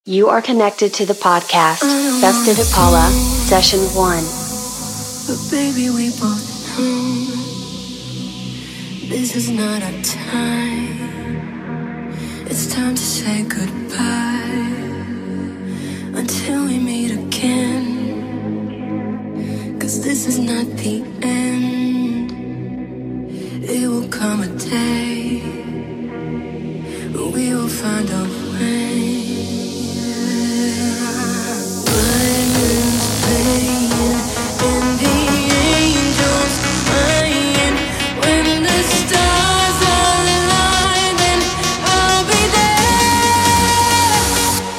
You are connected to the podcast, Festive Paula, Session 1. But baby, we both know this is not our time. It's time to say goodbye until we meet again. 'Cause this is not the end. It will come a day we will find a way. Violins playing and the angels crying. When the stars align, then I'll be there.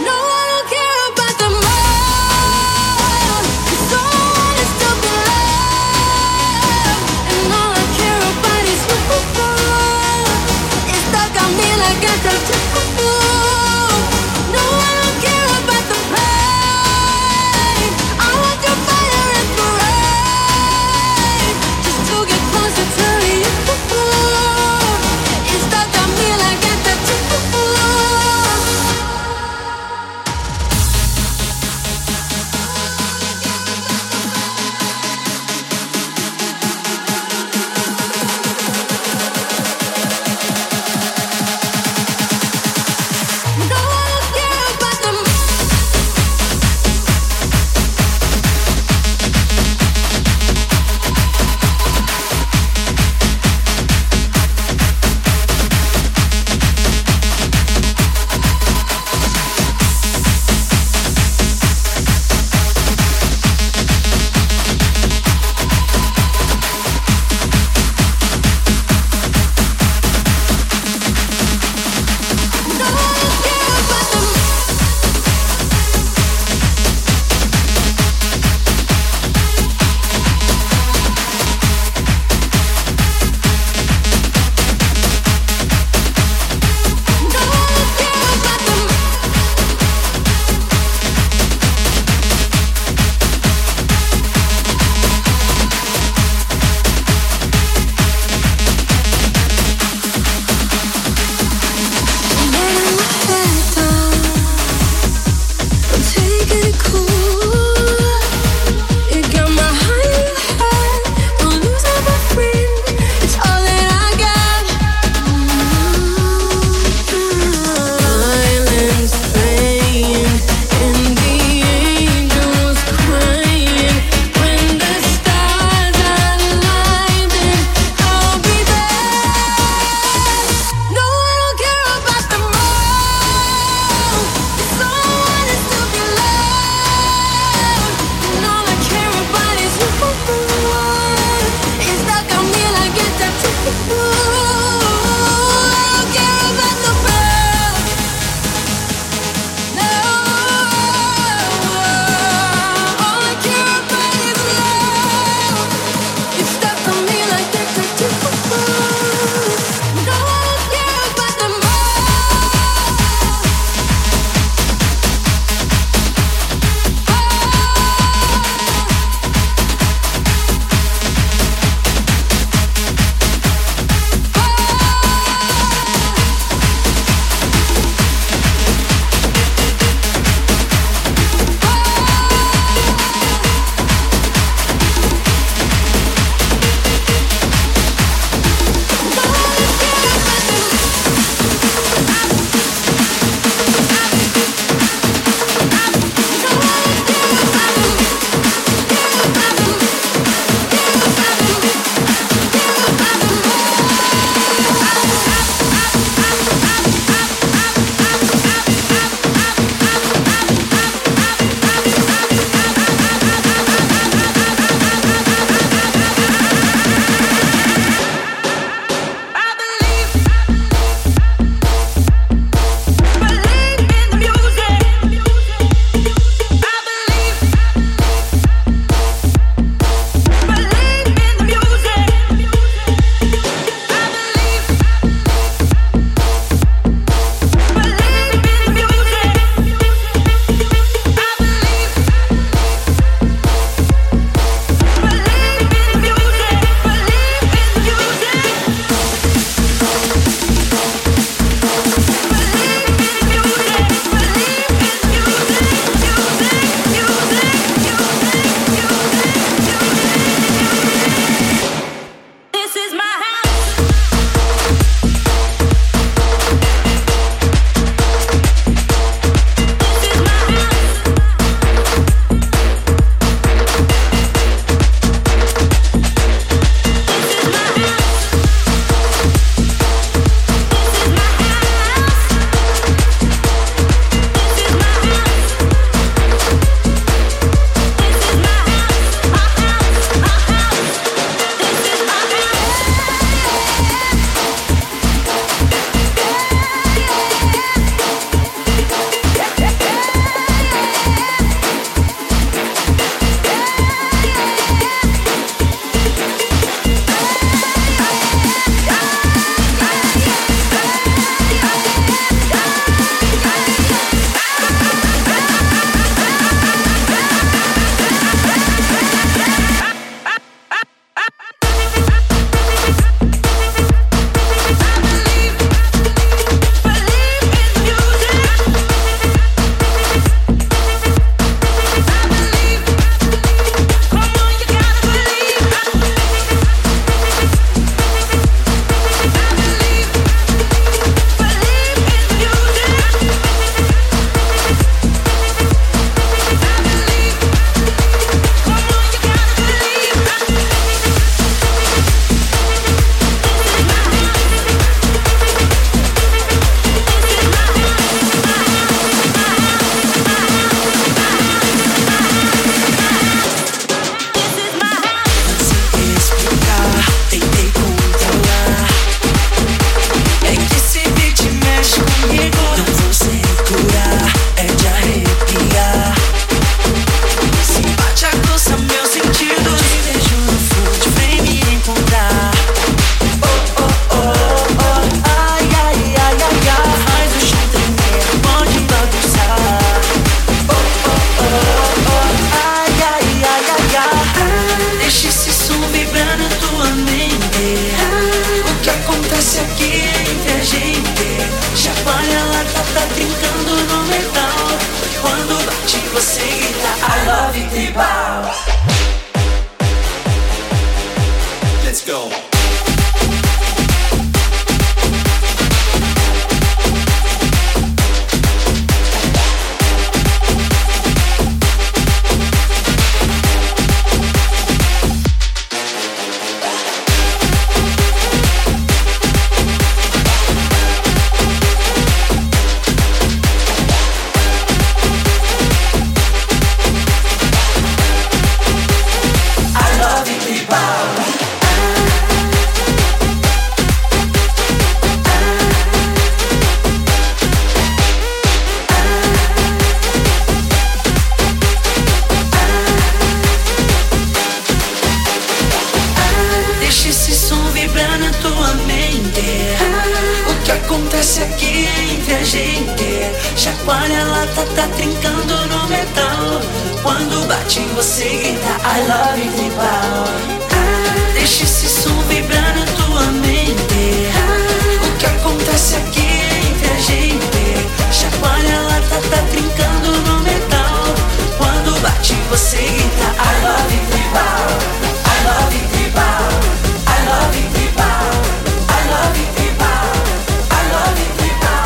tá trincando no metal. Quando bate você grita I love you tribal. Deixa esse som vibrar na tua mente. O que acontece aqui é entre a gente. Chacoalha a lata, tá trincando no metal. Quando bate você grita I love you tribal. I love you tribal. I love you tribal. I love you tribal. I love you tribal.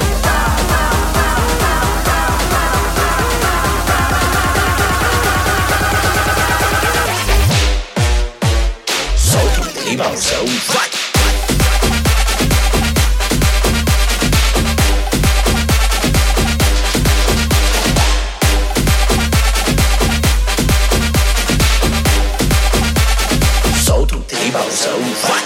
Solta o tribalzão, vai! Solta o tribalzão, vai!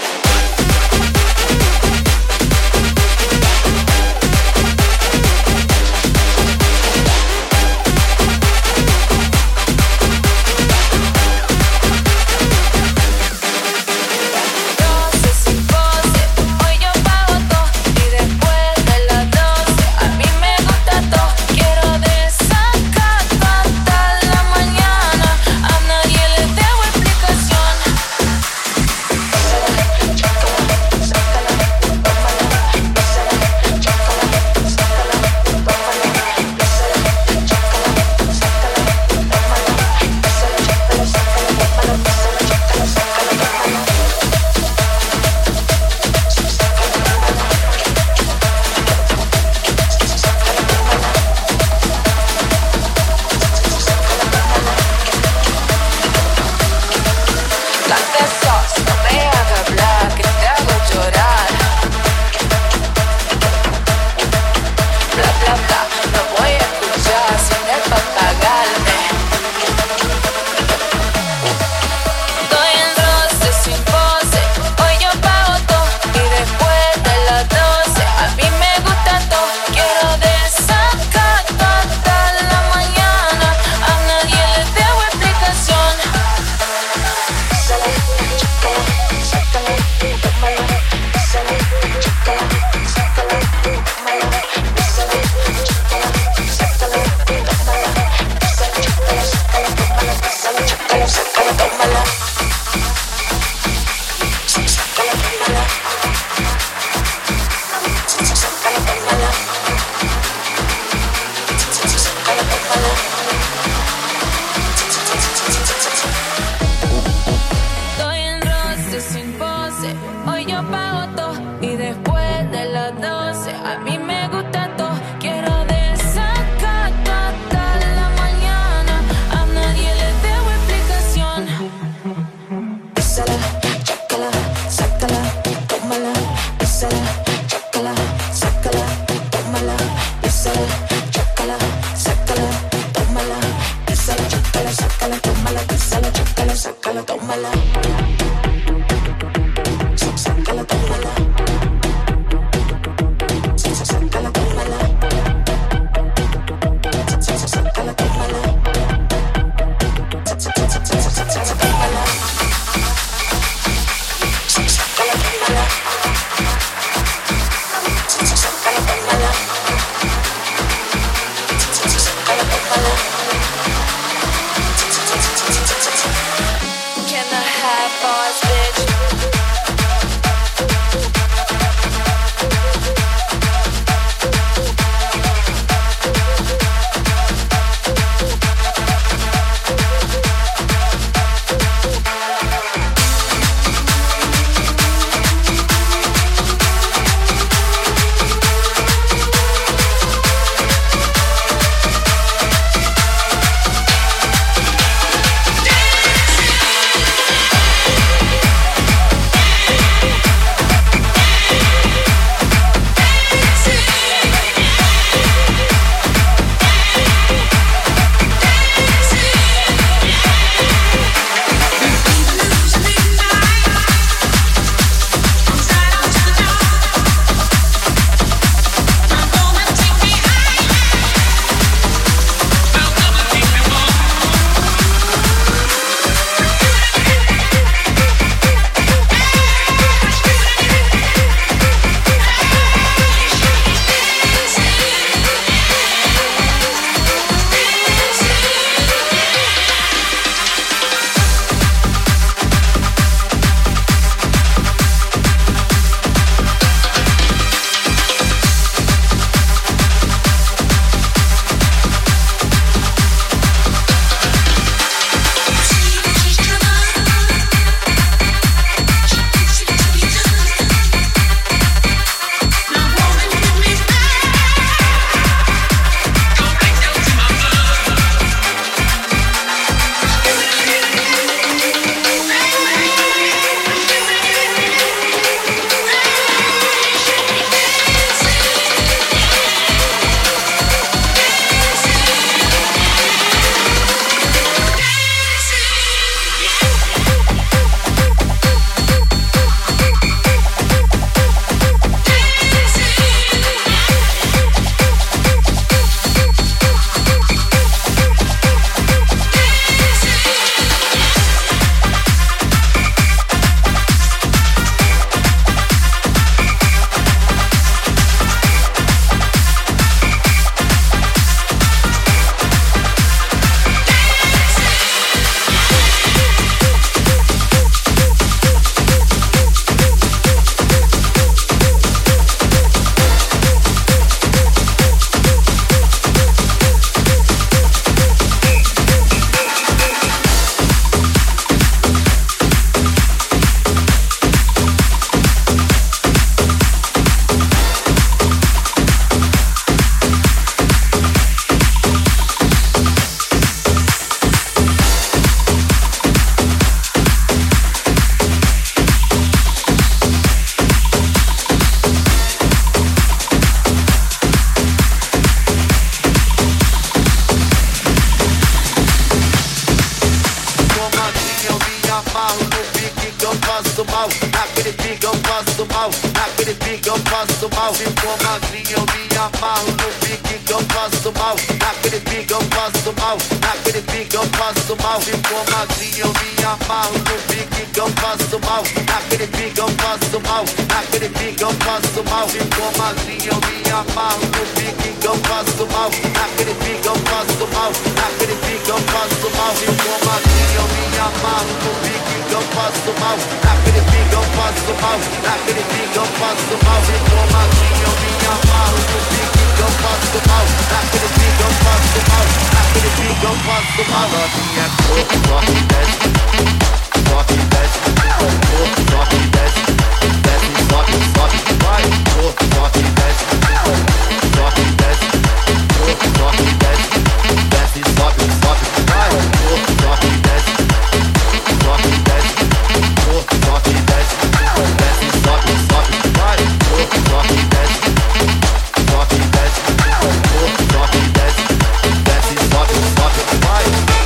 mal, naquele pique eu faço mal, naquele pique eu faço mal. Ficou magrinho, eu me amarro no pique que eu faço mal, naquele pique eu faço mal, naquele pique eu faço mal. Ficou magrinho, eu me amarro no pique que eu faço mal, naquele pique eu faço mal, naquele pique eu faço mal. Ficou magrinho, eu me amarro no pique que eu faço mal, naquele pique eu faço mal, naquele pique eu faço mal. Ficou magrinho, eu me amarro no pique que eu faço mal, naquele pique eu faço mal, naquele pique eu faço mal. Ficou magrinho, eu me amarro no pique que eu faço mal, naquele pique eu faço mal, naquele pique eu faço mal. Novinha é pouco, sobe e desce, sobe e desce, sobe e desce, desce, sobe, sobe, vai, sobe e desce, sobe e desce, sobe e desce, desce, sobe, sobe, vai, sobe e desce, sobe e desce, sobe e desce, desce, sobe, sobe, vai, sobe e desce, sobe e desce, sobe e desce, desce, sobe, sobe, vai.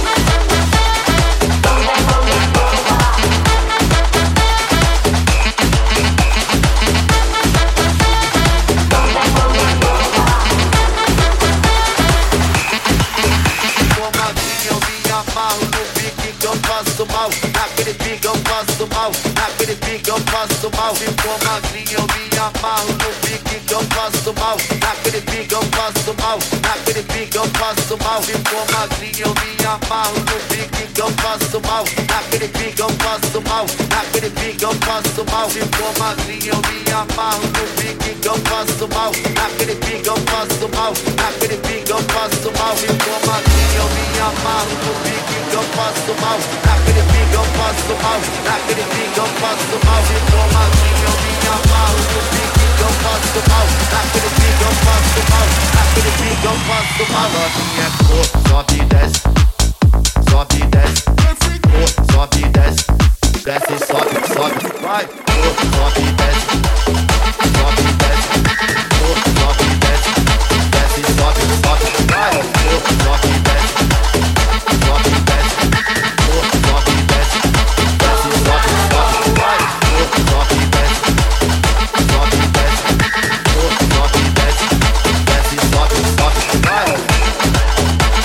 Mal, naquele pique eu faço mal, naquele pique eu faço mal. Ficou magrinho, eu me amarro no pique que eu faço mal, naquele pique eu faço mal, naquele pique eu faço mal. Ficou magrinho, eu me amarro no pique que eu faço mal, naquele pique eu faço mal, naquele pique eu faço mal. Ficou magrinho, eu me amarro no pique que eu faço mal, naquele pique eu faço mal, naquele pique eu faço mal. Ficou magrinho, eu me amarro no pique que eu faço mal, naquele pique eu faço mal, naquele pique eu faço mal. Ficou magrinho, eu me amarro no pique que eu faço mal, naquele pique eu faço mal, naquele pique eu faço mal. Novinha é cor, sobe e desce, sobe e desce, sobe e desce, desce, sobe, sobe, vai, sobe e desce, sobe e desce, sobe e desce, desce, sobe, sobe, vai, sobe e desce, sobe e desce, sobe e desce, desce, sobe, sobe, vai, sobe e desce, sobe e desce, sobe e desce, desce, sobe, sobe, vai.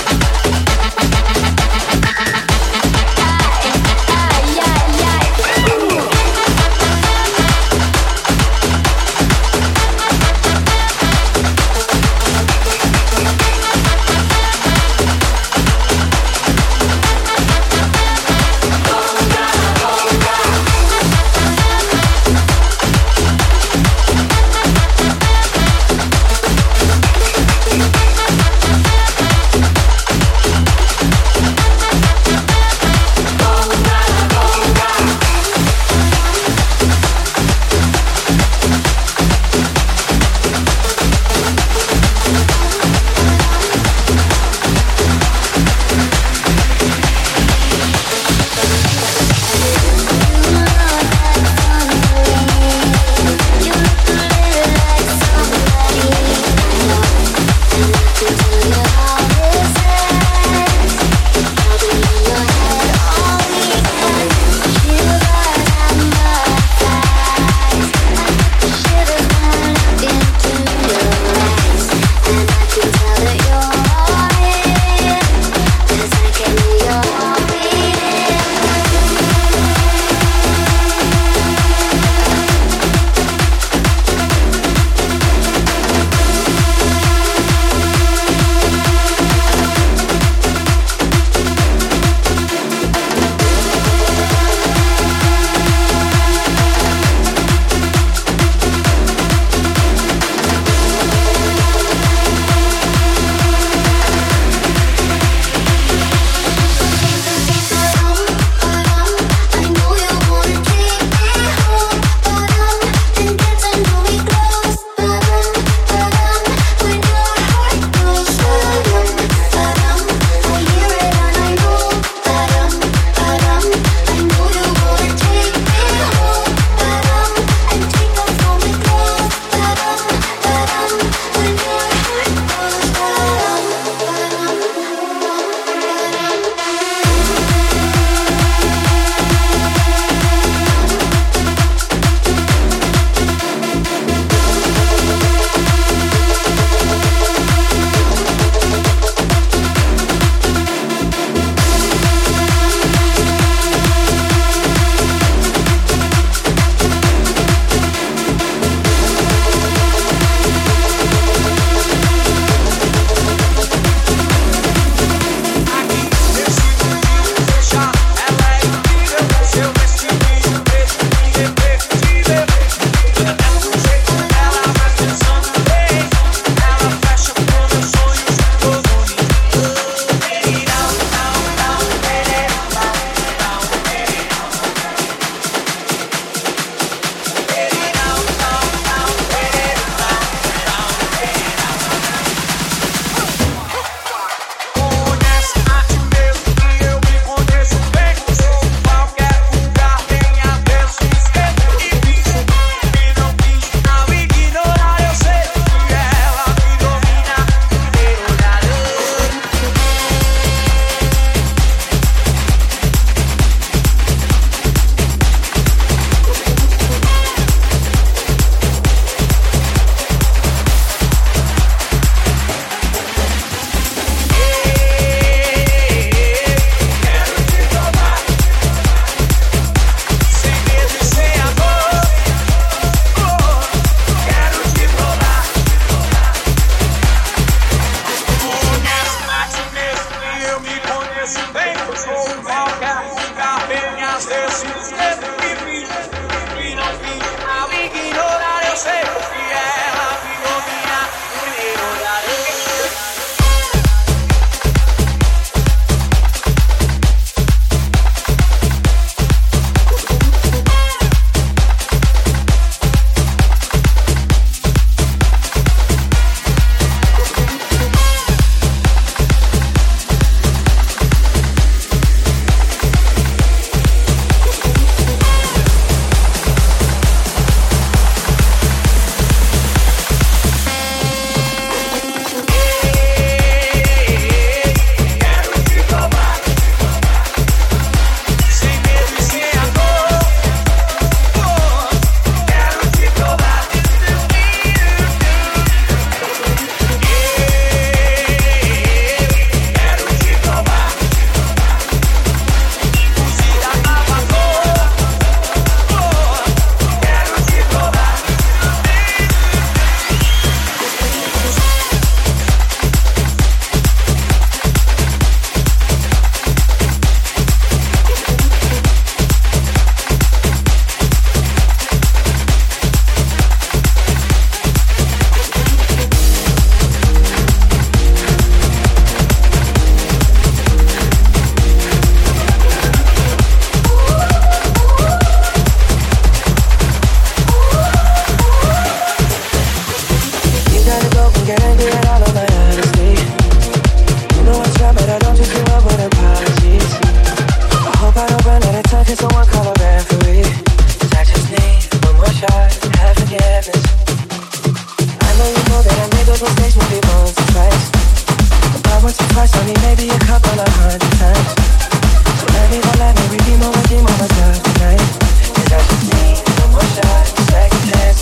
twice, I mean maybe a couple of 100 times. So let me redeem on myself tonight. 'Cause I just need one more shot, second chance.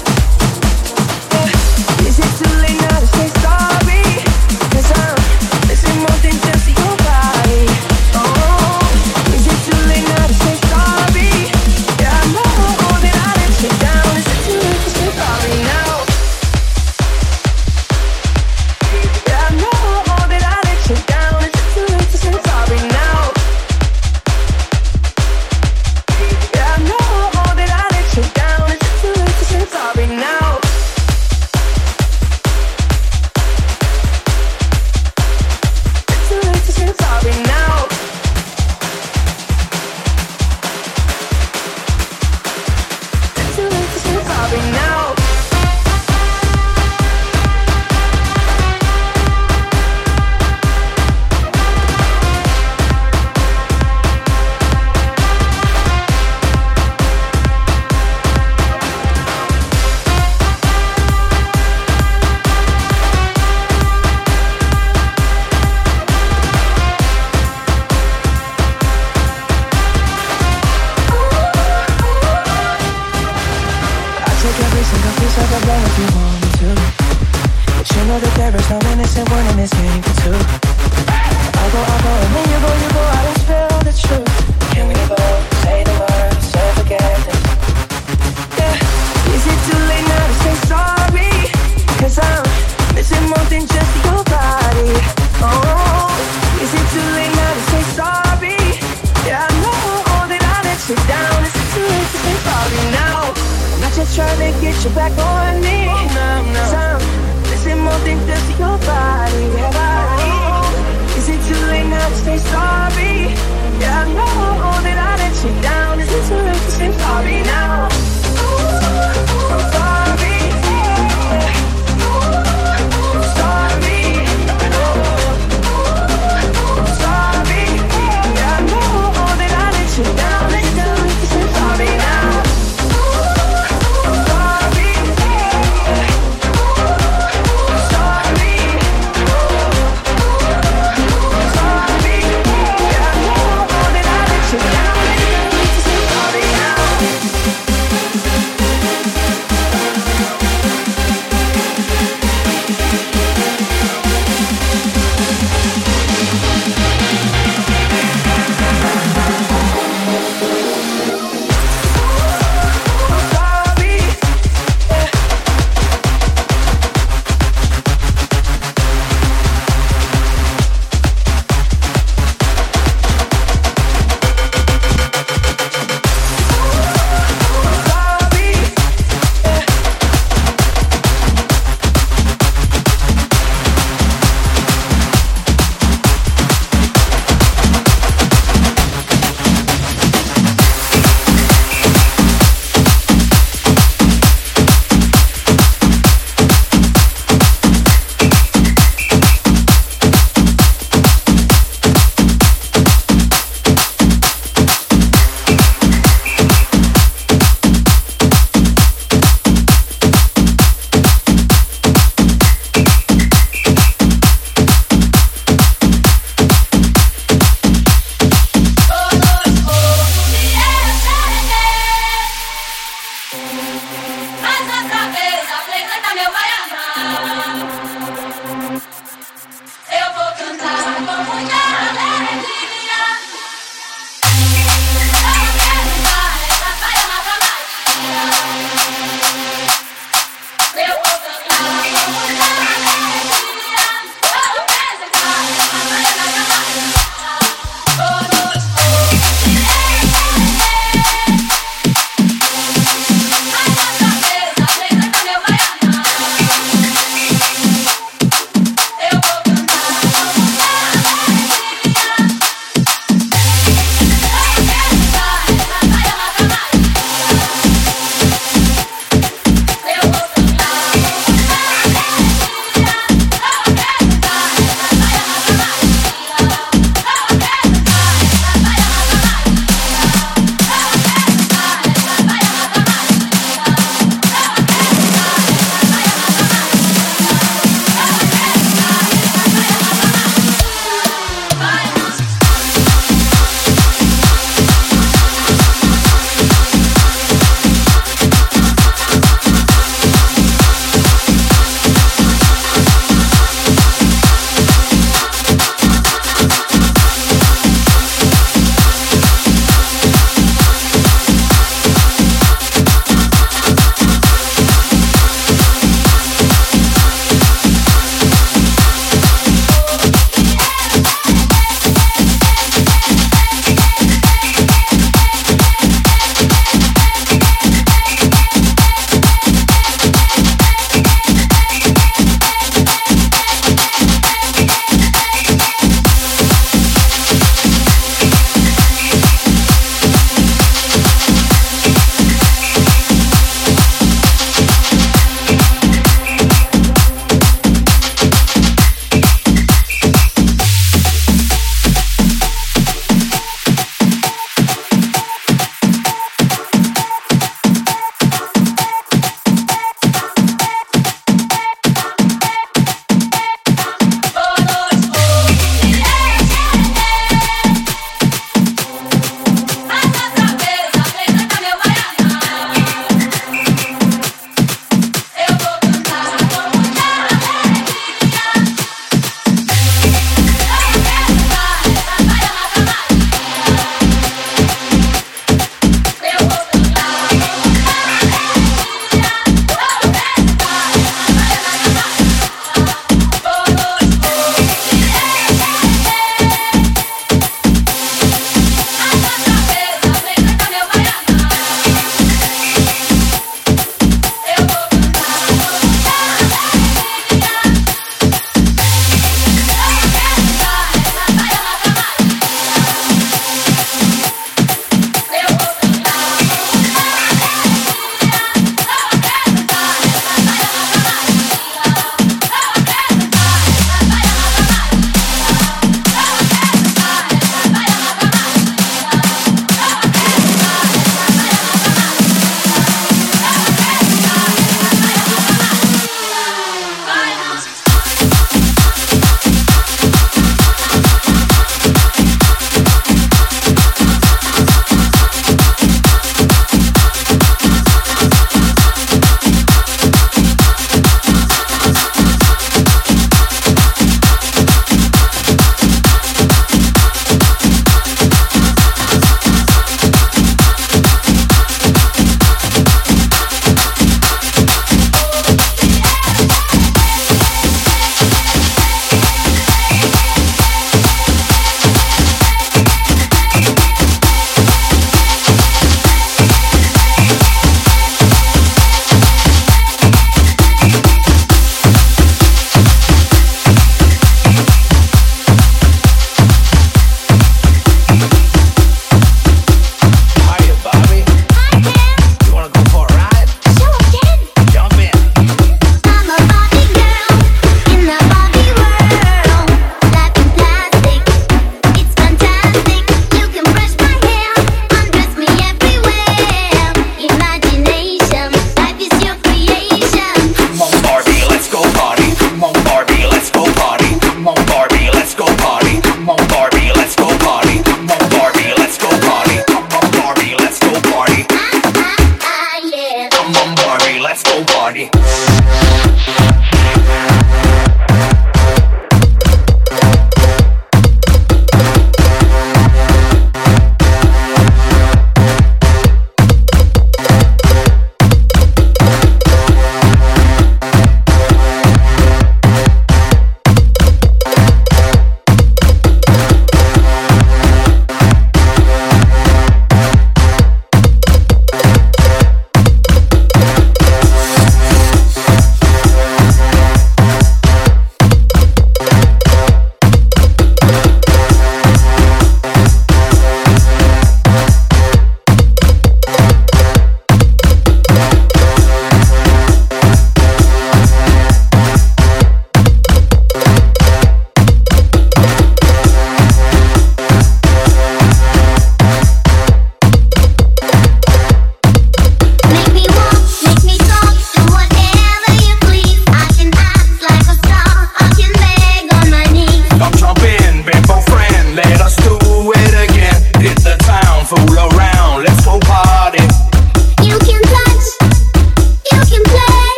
Is it too late now to say sorry? 'Cause I'm missing more than just your body. Oh, is it too late now to say sorry? Yeah, I know that I let you down. Is it too late to say sorry now? Yeah, I know that I let you down. Is it too late to say sorry now?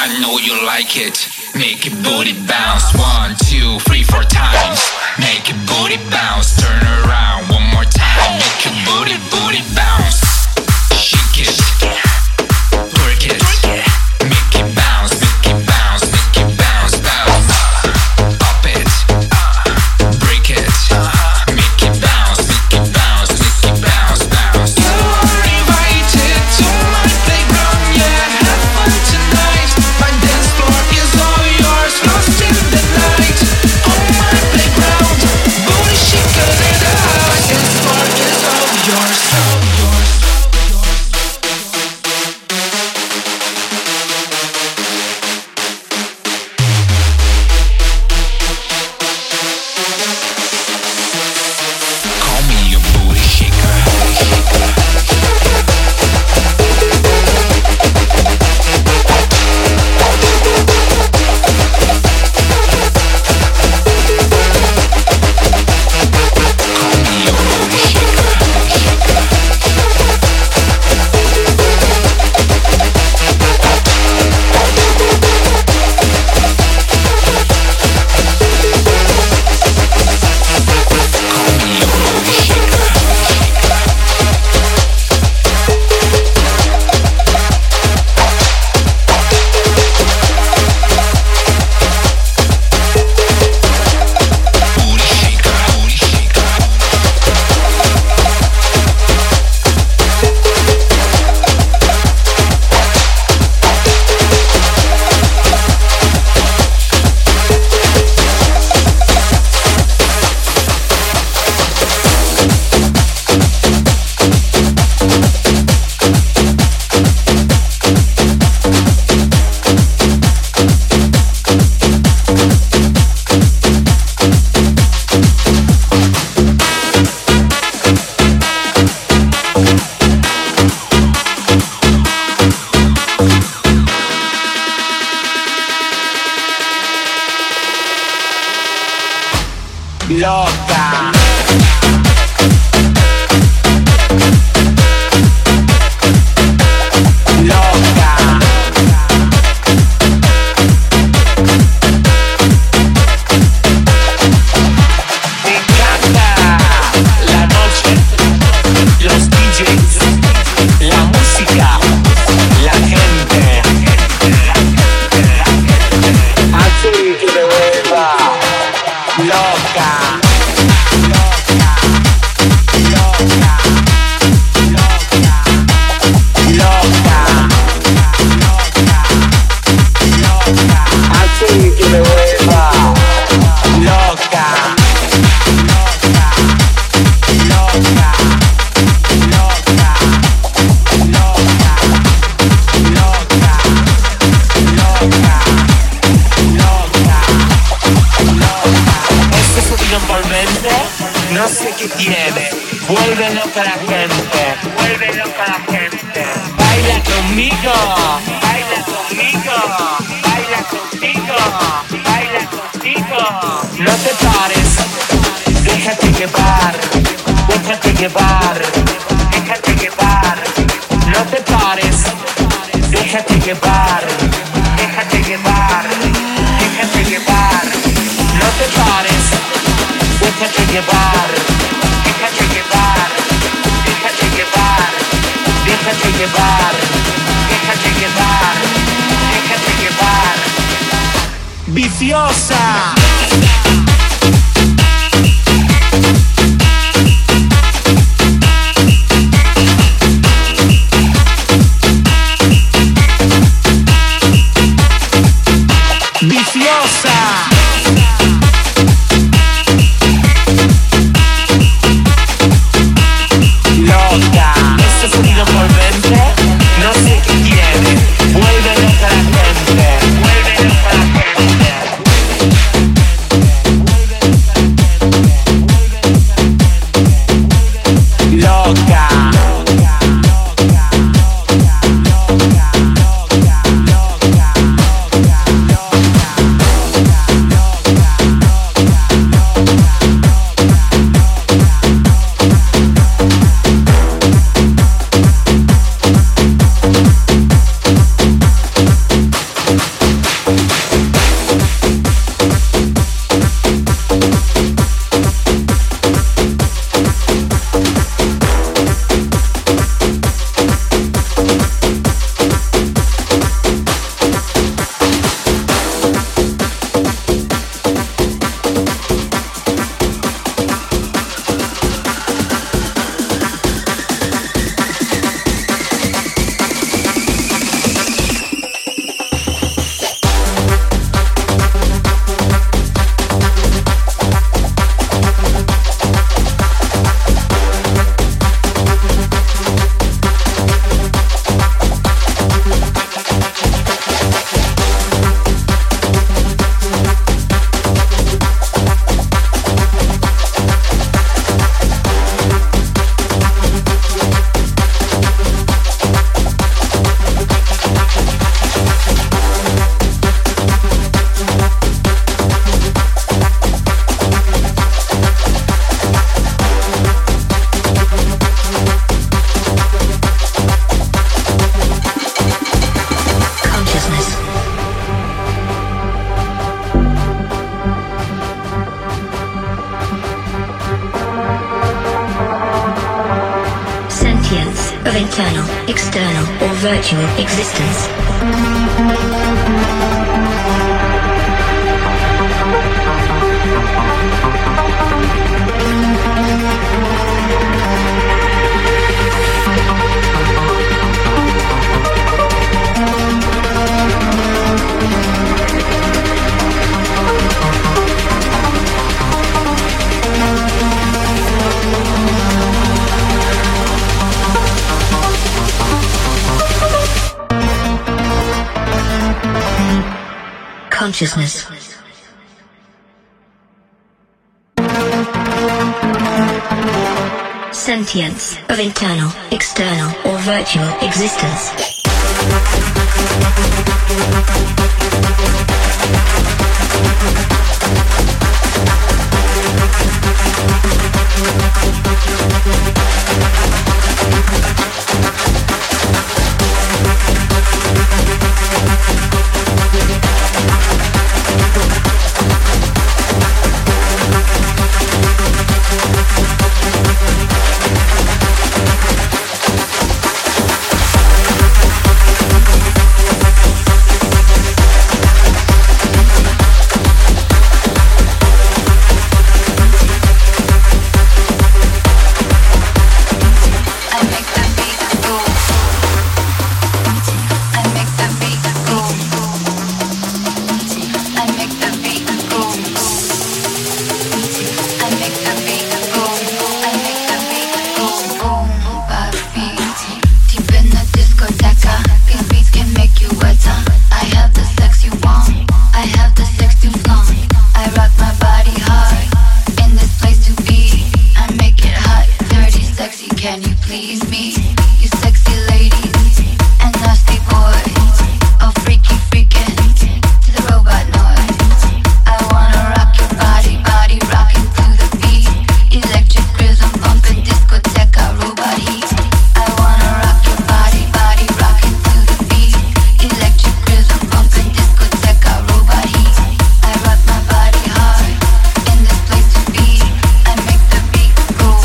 I know you like it. Make it booty bounce. 1, 2, 3, 4 times. Make it booty bounce. Turn around one more time. Make it booty, booty bounce. Shake it. Work it. Make it bounce. Make it bounce. Make it bounce. Bounce. Pop it. Break it. Make it bounce. Make it bounce. Make it bounce. Bounce. You are invited to my playground. Yeah, have fun tonight. My dance floor is all yours. Lost in the night. On my playground. Booty shaking it out. My dance floor is all yours. Call me a booty shaker. Call me a booty shaker. Call me a booty shaker. Booty shaker. Booty shaker. Loca. Loca. Me encanta la noche, los DJs, la música, la gente. Así que me vuelva loca. Así que me vuelva loca. Este sonido envolvente, no sé qué tiene. Vuelve loca la gente. Vuelve loca la gente. Baila conmigo. Baila conmigo. Baila conmigo. Baila conmigo. No te pares. Déjate llevar. Déjate llevar. Déjate llevar. No te pares. Déjate llevar. Déjate llevar. Déjate llevar. No te pares. Déjate llevar. Déjate llevar. Déjate llevar. Déjate llevar. Déjate llevar. Déjate llevar. Viciosa. Viciosa. Loca. Este sonido envolvente, no sé qué tiene. Vuelve loca la gente. Vuelve loca la gente. Loca. Sentience of internal, external, or virtual existence. Consciousness. Sentience of internal, external, or virtual existence.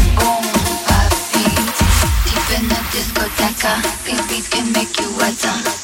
These beats can make you wet.